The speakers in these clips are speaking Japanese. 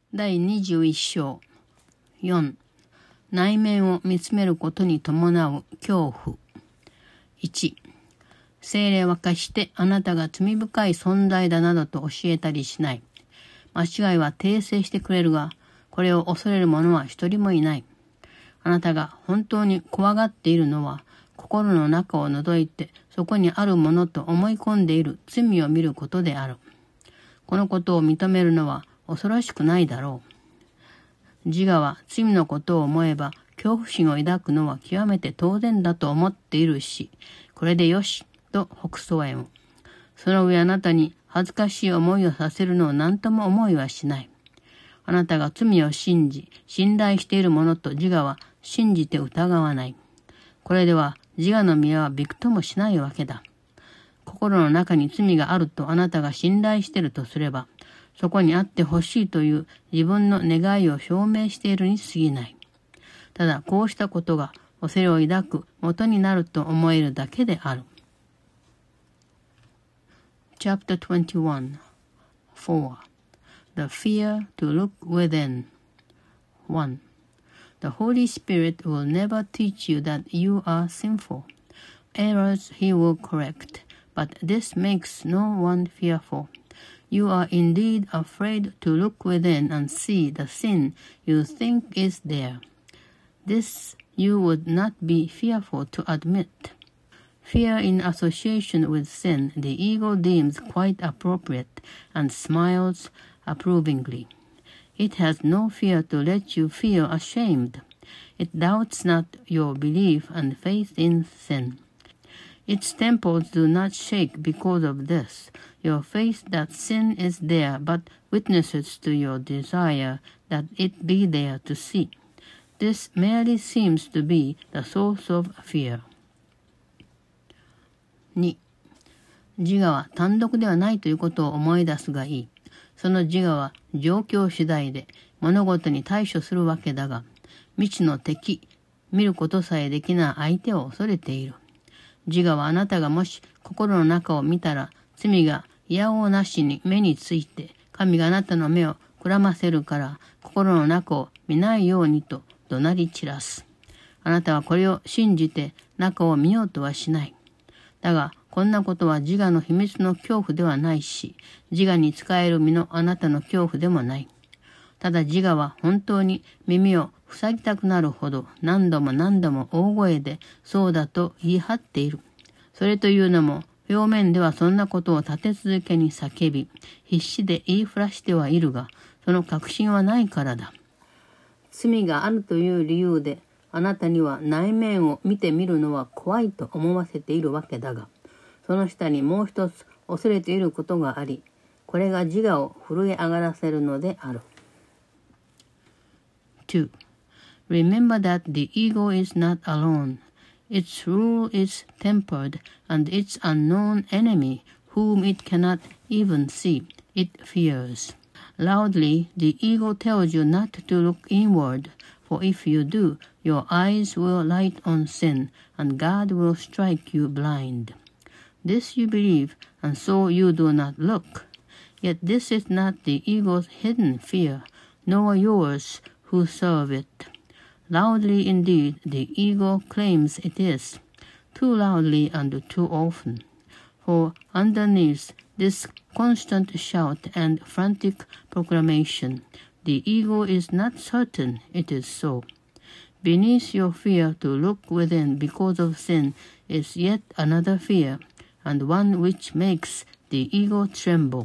第21章4、内面を見つめることに伴う恐怖。1、聖霊は決してあなたが罪深い存在だなどと教えたりしない。間違いは訂正してくれるが、これを恐れる者は一人もいない。あなたが本当に怖がっているのは、心の中を覗いてそこにあるものと思い込んでいる罪を見ることである。このことを認めるのは恐ろしくないだろう。自我は罪のことを思えば恐怖心を抱くのは極めて当然だと思っているし、これでよしと北総へも。その上あなたに恥ずかしい思いをさせるのを何とも思いはしない。あなたが罪を信じ、信頼しているものと自我は信じて疑わない。これでは自我の宮はびくともしないわけだ。心の中に罪があるとあなたが信頼しているとすれば、そこにあってほしいという自分の願いを証明しているに過ぎない。ただこうしたことが恐れを抱く元になると思えるだけである。Chapter 21 4. The fear to look within. 1. The Holy Spirit will never teach you that you are sinful. Errors he will correct, but this makes no one fearful. You are indeed afraid to look within and see the sin you think is there. This you would not be fearful to admit. Fear in association with sin the ego deems quite appropriate and smiles approvingly. It has no fear to let you feel ashamed. It doubts not your belief and faith in sin. Its temples do not shake because of this. Your faith that sin is there but witnesses to your desire that it be there to see. This merely seems to be the source of fear. 2. 自我は単独ではないということを思い出すがいい。その自我は状況次第で物事に対処するわけだが、未知の敵、見ることさえできない相手を恐れている。自我はあなたがもし心の中を見たら、罪が嫌おうなしに目について、神があなたの目をくらませるから、心の中を見ないようにと怒鳴り散らす。あなたはこれを信じて中を見ようとはしない。だが、こんなことは自我の秘密の恐怖ではないし、自我に使える身のあなたの恐怖でもない。ただ自我は本当に耳を塞ぎたくなるほど何度も何度も大声でそうだと言い張っている。それというのも表面ではそんなことを立て続けに叫び、必死で言いふらしてはいるが、その確信はないからだ。罪があるという理由で、あなたには内面を見てみるのは怖いと思わせているわけだが、その下にもう一つ恐れていることがあり、これが自我を震え上がらせるのである。2. Remember that the ego is not alone. Its rule is tempered, and its unknown enemy, whom it cannot even see, it fears. Loudly, the ego tells you not to look inward, for if you do, your eyes will light on sin, and God will strike you blind. This you believe, and so you do not look. Yet this is not the ego's hidden fear, nor yours who serve it. Loudly indeed the ego claims it is, too loudly and too often. For underneath this constant shout and frantic proclamation, the ego is not certain it is so. Beneath your fear to look within because of sin is yet another fear, and one which makes the ego tremble.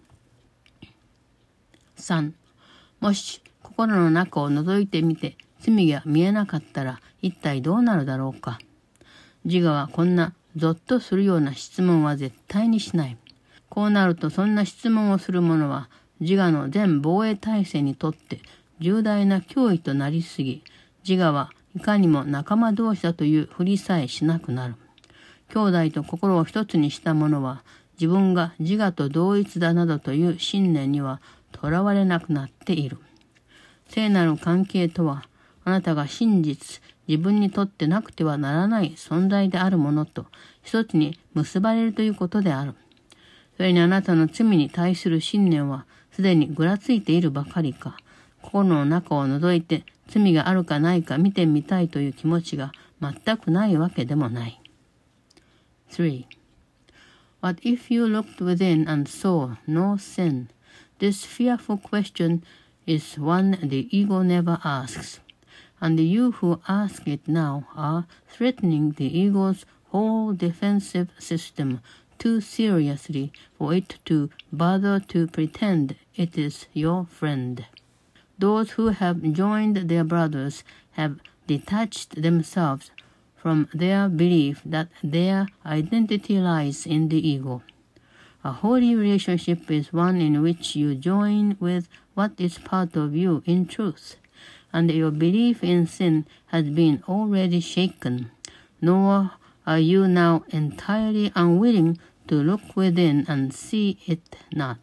3. もし心の中を覗いてみて罪が見えなかったら一体どうなるだろうか。自我はこんなゾッとするような質問は絶対にしない。こうなるとそんな質問をする者は自我の全防衛体制にとって重大な脅威となりすぎ、自我はいかにも仲間同士だというふりさえしなくなる。兄弟と心を一つにした者は自分が自我と同一だなどという信念にはとらわれなくなっている。聖なる関係とは、あなたが真実、自分にとってなくてはならない存在であるものと一つに結ばれるということである。それにあなたの罪に対する信念はすでにぐらついているばかりか、 心の中を覗いて罪があるかないか見てみたいという気持ちが全くないわけでもない。3. What if you looked within and saw no sin? This fearful question is one the ego never asks, and you who ask it now are threatening the ego's whole defensive system too seriously for it to bother to pretend it is your friend. Those who have joined their brothers have detached themselves from their belief that their identity lies in the ego. A holy relationship is one in which you join with what is part of you in truth, and your belief in sin has been already shaken, nor are you now entirely unwilling to look within and see it not.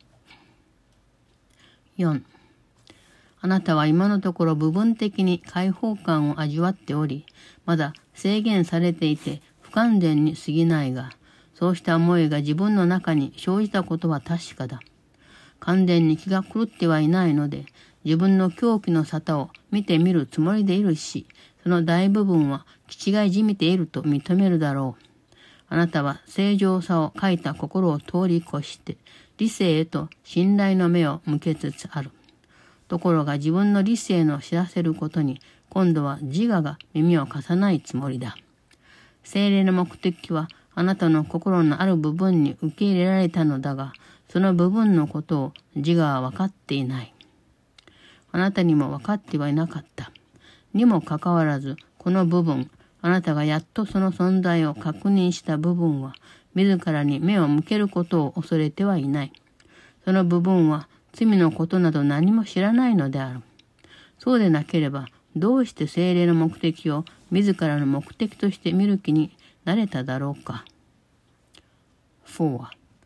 4. あなたは今のところ部分的に解放感を味わっており、まだ制限されていて不完全に過ぎないが、そうした思いが自分の中に生じたことは確かだ。完全に気が狂ってはいないので、自分の狂気の沙汰を見てみるつもりでいるし、その大部分は気違いじみていると認めるだろう。あなたは正常さを欠いた心を通り越して、理性へと信頼の目を向けつつある。ところが自分の理性の知らせることに、今度は自我が耳を貸さないつもりだ。聖霊の目的は、あなたの心のある部分に受け入れられたのだが、その部分のことを自我は分かっていない。あなたにも分かってはいなかった。にもかかわらず、この部分、あなたがやっとその存在を確認した部分は、自らに目を向けることを恐れてはいない。その部分は、罪のことなど何も知らないのである。そうでなければ、どうして聖霊の目的を自らの目的として見る気になれただろうか。4.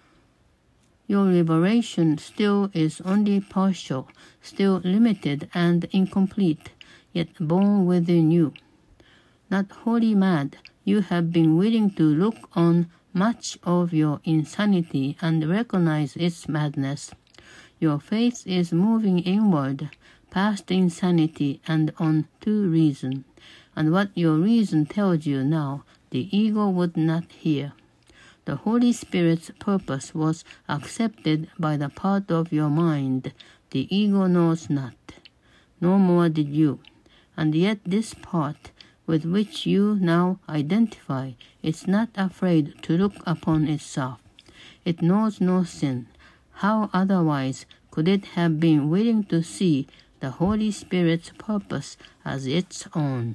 Your liberation still is only partial, still limited and incomplete, yet born within you. Not wholly mad, you have been willing to look on much of your insanity and recognize its madness. Your faith is moving inward, past insanity and on to reason, and what your reason tells you now, the ego would not hear. The Holy Spirit's purpose was accepted by the part of your mind the ego knows not. No more did you, and yet this part, with which you now identify, is not afraid to look upon itself. It knows no sin. How otherwise could it have been willing to see the Holy Spirit's purpose as its own?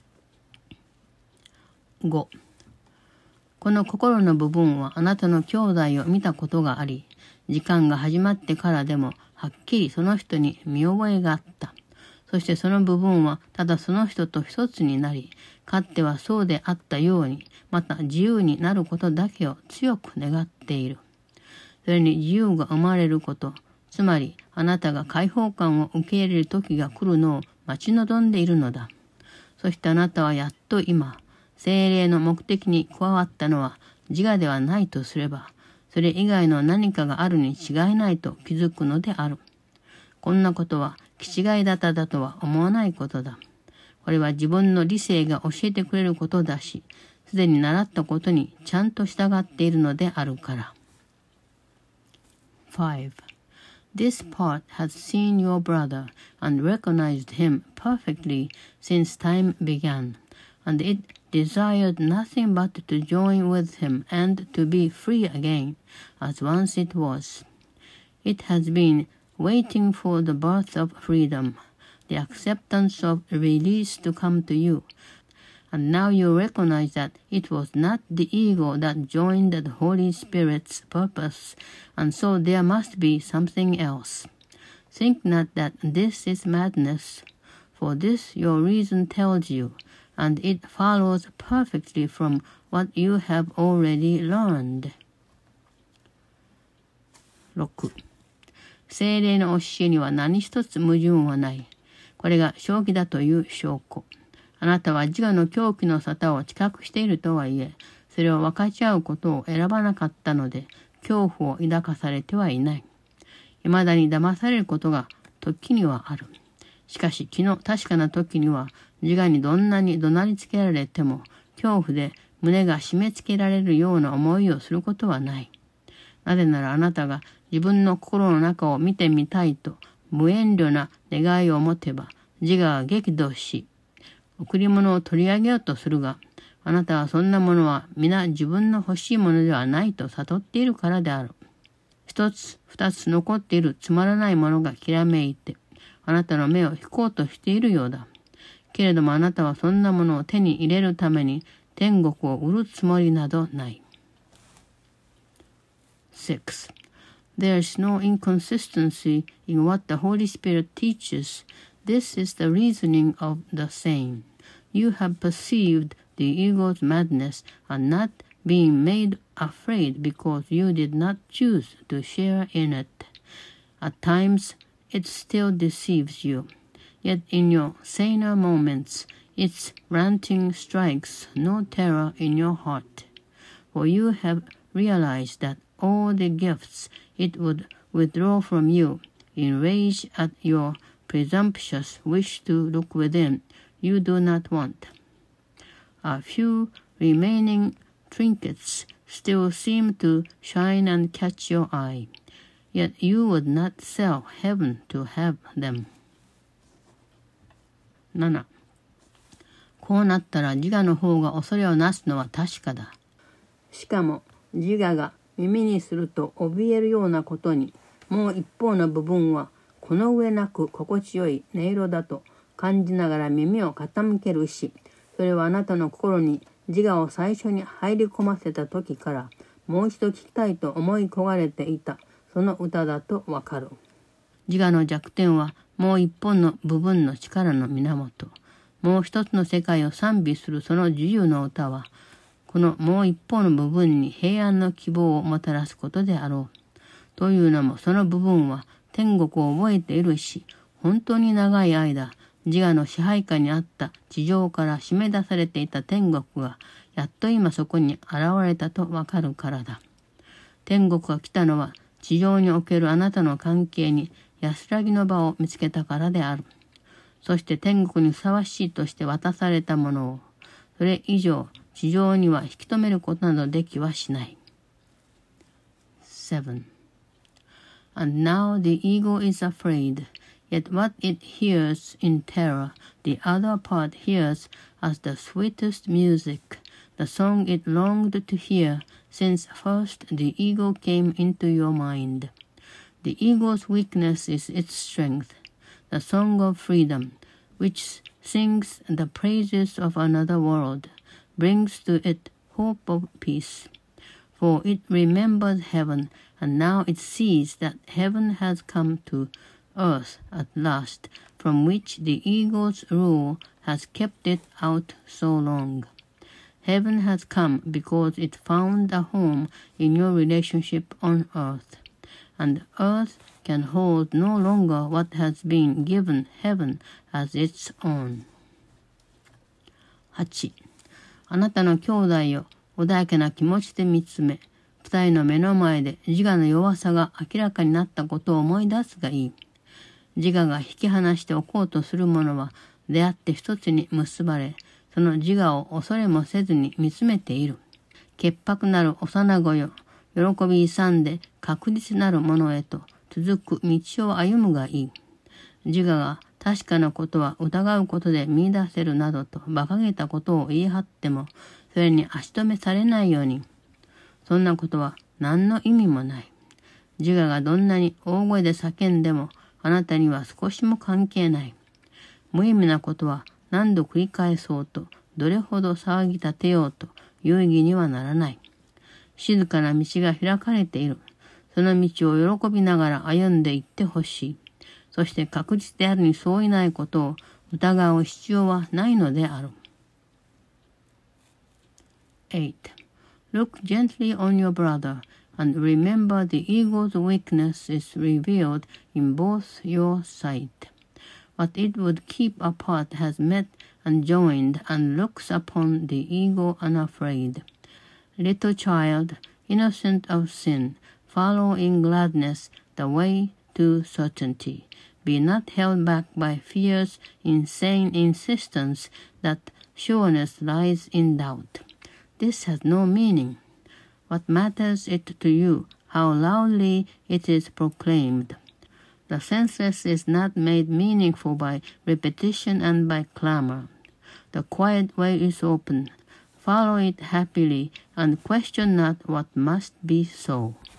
5. この心の部分はあなたの兄弟を見たことがあり、時間が始まってからでもはっきりその人に見覚えがあった。そしてその部分はただその人と一つになり、かつてはそうであったように、また自由になることだけを強く願っている。それに自由が生まれること、つまりあなたが解放感を受け入れる時が来るのを待ち望んでいるのだ。そしてあなたはやっと今、聖霊の目的に加わったのは自我ではないとすれば、それ以外の何かがあるに違いないと気づくのである。こんなことは気違い立ただとは思わないことだ。これは自分の理性が教えてくれることだし、すでに習ったことにちゃんと従っているのであるから。5. This part has seen your brother and recognized him perfectly since time began, and it desired nothing but to join with him and to be free again, as once it was. It has been waiting for the birth of freedom, the acceptance of release to come to you, and now you recognize that it was not the ego that joined the Holy Spirit's purpose, and so there must be something else. Think not that this is madness, for this your reason tells you, and it follows perfectly from what you have already learned. 6. 聖霊の教えには何一つ矛盾はない。これが正気だという証拠。あなたは自我の狂気の沙汰を知覚しているとはいえ、それを分かち合うことを選ばなかったので、恐怖を抱かされてはいない。未だに騙されることが時にはある。しかし気の確かな時には自我にどんなに怒鳴りつけられても恐怖で胸が締め付けられるような思いをすることはない。なぜならあなたが自分の心の中を見てみたいと無遠慮な願いを持てば自我は激怒し贈り物を取り上げようとするが、あなたはそんなものは皆自分の欲しいものではないと悟っているからである。一つ二つ残っているつまらないものがきらめいてあなたの目を引こうとしているようだ。けれどもあなたはそんなものを手に入れるために天国を売るつもりなどない。6. There is no inconsistency in what the Holy Spirit teaches. This is the reasoning of the same. You have perceived the ego's madness and not being made afraid because you did not choose to share in it. At times, it still deceives you. Yet in your saner moments, its ranting strikes no terror in your heart. For you have realized that all the gifts it would withdraw from you, in rage at your presumptuous wish to look within, you do not want. A few remaining trinkets still seem to shine and catch your eye, yet you would not sell heaven to have them. 7. こうなったら自我の方が恐れをなすのは確かだ。しかも自我が耳にすると怯えるようなことに、もう一方の部分はこの上なく心地よい音色だと感じながら耳を傾けるし、それはあなたの心に自我を最初に入り込ませた時からもう一度聞きたいと思い焦がれていたその歌だとわかる。自我の弱点はもう一本の部分の力の源。もう一つの世界を賛美するその自由の歌は、このもう一方の部分に平安の希望をもたらすことであろう。というのもその部分は天国を覚えているし、本当に長い間、自我の支配下にあった地上から締め出されていた天国が、やっと今そこに現れたとわかるからだ。天国が来たのは、地上におけるあなたの関係に安らぎの場を見つけたからである。そして天国にふさわしいとして渡されたものを、それ以上地上には引き止めることなどできはしない。7. And now the ego is afraid, yet what it hears in terror, the other part hears as the sweetest music, the song it longed to hear since first the ego came into your mind. The ego's weakness is its strength, the song of freedom, which sings the praises of another world, brings to it hope of peace. For it remembers heaven, and now it sees that heaven has come to earth at last, from which the ego's rule has kept it out so long. Heaven has come because it found a home in your relationship on earth, and earth can hold no longer what has been given heaven as its own. 8. あなたの兄弟を穏やかな気持ちで見つめ、二人の目の前で自我の弱さが明らかになったことを思い出すがいい。自我が引き離しておこうとするものは出会って一つに結ばれ、その自我を恐れもせずに見つめている。潔白なる幼子よ、喜び勇んで確実なるものへと続く道を歩むがいい。自我が確かなことは疑うことで見出せるなどと馬鹿げたことを言い張っても、それに足止めされないように。そんなことは何の意味もない。自我がどんなに大声で叫んでも、あなたには少しも関係ない。無意味なことは何度繰り返そうと、どれほど騒ぎ立てようと有意義にはならない。静かな道が開かれている。その道を喜びながら歩んでいってほしい。そして確実であるにそういないことを疑う必要はないのである。8. Look gently on your brother, and remember the ego's weakness is revealed in both your sight. What it would keep apart has met and joined and looks upon the ego unafraid. Little child, innocent of sin, follow in gladness the way to certainty. be not held back by fear's insane insistence that sureness lies in doubt. This has no meaning. What matters it to you, how loudly it is proclaimed? The senseless is not made meaningful by repetition and by clamor. The quiet way is open. Follow it happily and question not what must be so.